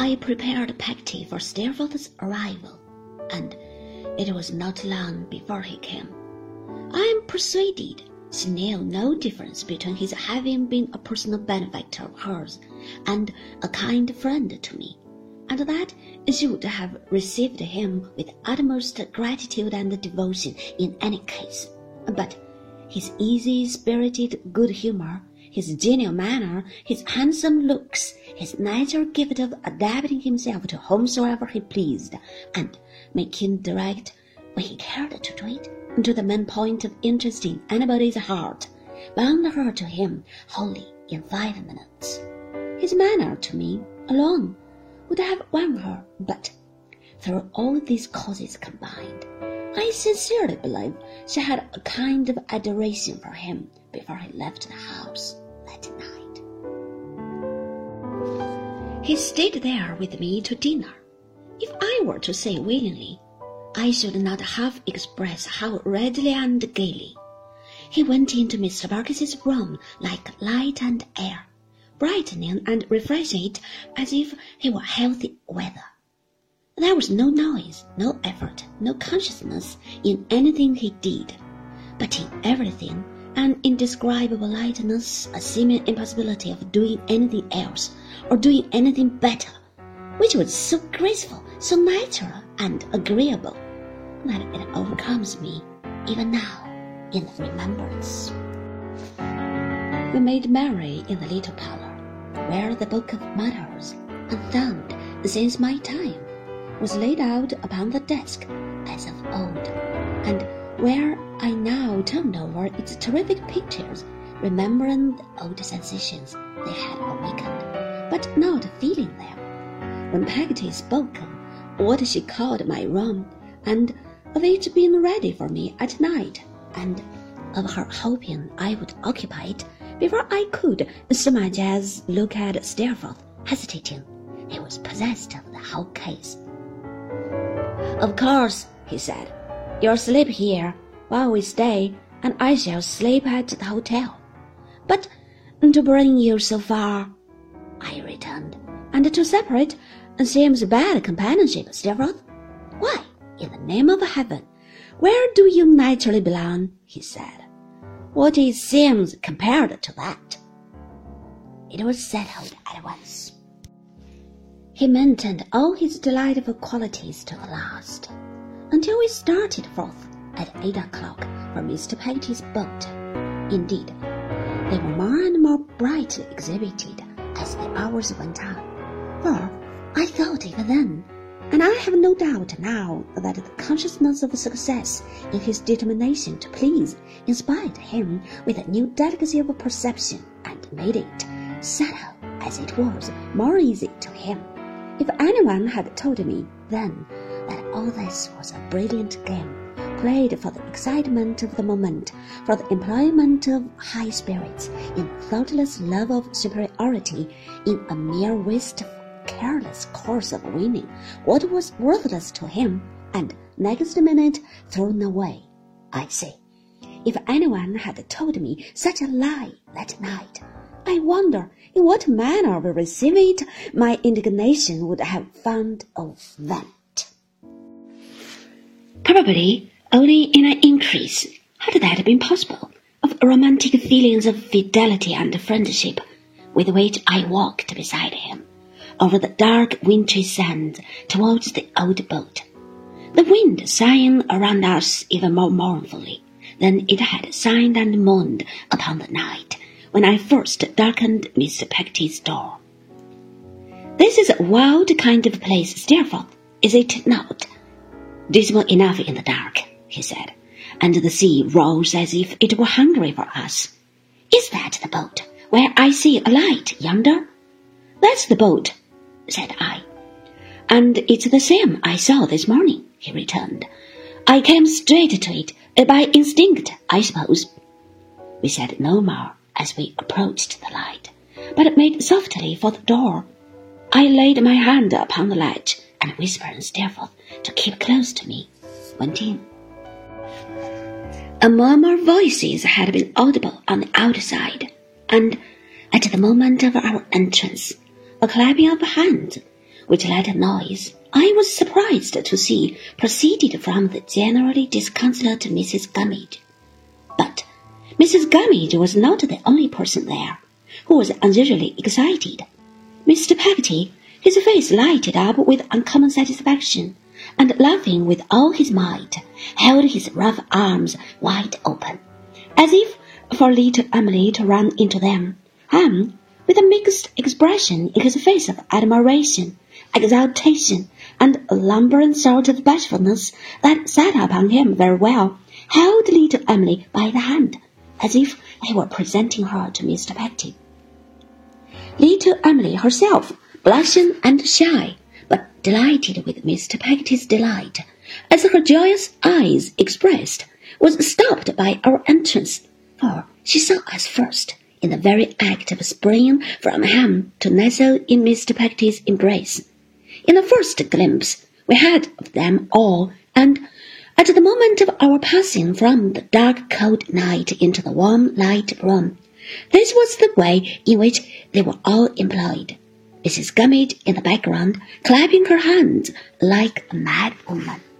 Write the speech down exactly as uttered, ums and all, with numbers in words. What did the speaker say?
I prepared Peggotty for Steerforth's arrival, and it was not long before he came. I am persuaded she knew no difference between his having been a personal benefactor of hers and a kind friend to me, and that she would have received him with utmost gratitude and devotion in any case. But his easy-spirited good humour, his genial manner, his handsome looks, his natural gift of adapting himself to whomsoever he pleased, and making direct, when he cared to do it, to the main point of interest in anybody's heart, bound her to him wholly in five minutes. His manner to me alone would have won her, but through all these causes combined, I sincerely believe she had a kind of adoration for him before he left the house that night. He stayed there with me to dinner. If I were to say willingly, I should not half express how readily and gaily. He went into Mister Barkis's room like light and air, brightening and refreshing it as if he were healthy weather. There was no noise, no effort, no consciousness in anything he did, but in everything an indescribable lightness, a seeming impossibility of doing anything else or doing anything better, which was so graceful, so natural and agreeable, that it overcomes me even now in remembrance. We made merry in the little parlour, where the book of matters, unfound since my time, was laid out upon the desk as of old, and where I now turned over its terrific pictures, remembering the old sensations they had awakened, but not feeling them. When Peggotty spoke of what she called my room, and of it being ready for me at night, and of her hoping I would occupy it before I could so much as look at Steerforth, hesitating, he was possessed of the whole case. "Of course," he said, "you'll sleep here while we stay, and I shall sleep at the hotel. But to bring you so far," I returned, "and to separate seems bad companionship, Steerforth. Why, in the name of heaven, where do you naturally belong?" he said. "What is seems compared to that?" It was settled at once. He maintained all his delightful qualities to the last, until we started forth at eight o'clock for Mister Peggotty's boat. Indeed, they were more and more brightly exhibited as the hours went on, for I thought even then, and I have no doubt now, that the consciousness of success in his determination to please inspired him with a new delicacy of perception, and made it, subtle as it was, more easy to him. If anyone had told me then that all this was a brilliant game, played for the excitement of the moment, for the employment of high spirits, in thoughtless love of superiority, in a mere wasteful, careless course of winning what was worthless to him, and next minute thrown away, I say, if anyone had told me such a lie that night, I wonder in what manner of receiving it my indignation would have found a vent. Probably only in an increase, had that been possible, of romantic feelings of fidelity and friendship, with which I walked beside him over the dark wintry sand towards the old boat, the wind sighing around us even more mournfully than it had sighed and moaned upon the night when I first darkened Mister Peggotty's door. "This is a wild kind of place, Steerforth, is it not? Dismal enough in the dark," he said, "and the sea rolls as if it were hungry for us. Is that the boat where I see a light yonder?" "That's the boat," said I. "And it's the same I saw this morning," he returned. "I came straight to it, by instinct, I suppose." We said no more as we approached the light, but made softly for the door. I laid my hand upon the latch, and whispering Steerforth to keep close to me, went in. A murmur of voices had been audible on the outside, and at the moment of our entrance, a clapping of hands, which that noise, I was surprised to see, proceeded from the generally disconsolate Missus Gummidge. But Missus Gummidge was not the only person there who was unusually excited. Mister Peggotty, his face lighted up with uncommon satisfaction, and laughing with all his might, held his rough arms wide open, as if for little Emily to run into them, and, with a mixed expression in his face of admiration, exultation, and a lumbering sort of bashfulness that sat upon him very well, held little Emily by the hand, as if he were presenting her to Mister Peggotty. Little Emily herself, blushing and shy, but delighted with Mister Peggotty's delight, as her joyous eyes expressed, was stopped by our entrance, for she saw us first, in the very act of springing from him to nestle in Mister Peggotty's embrace. In the first glimpse we had of them all, and at the moment of our passing from the dark cold night into the warm light room, this was the way in which they were all employed. Missus Gummidge in the background, clapping her hands like a mad woman.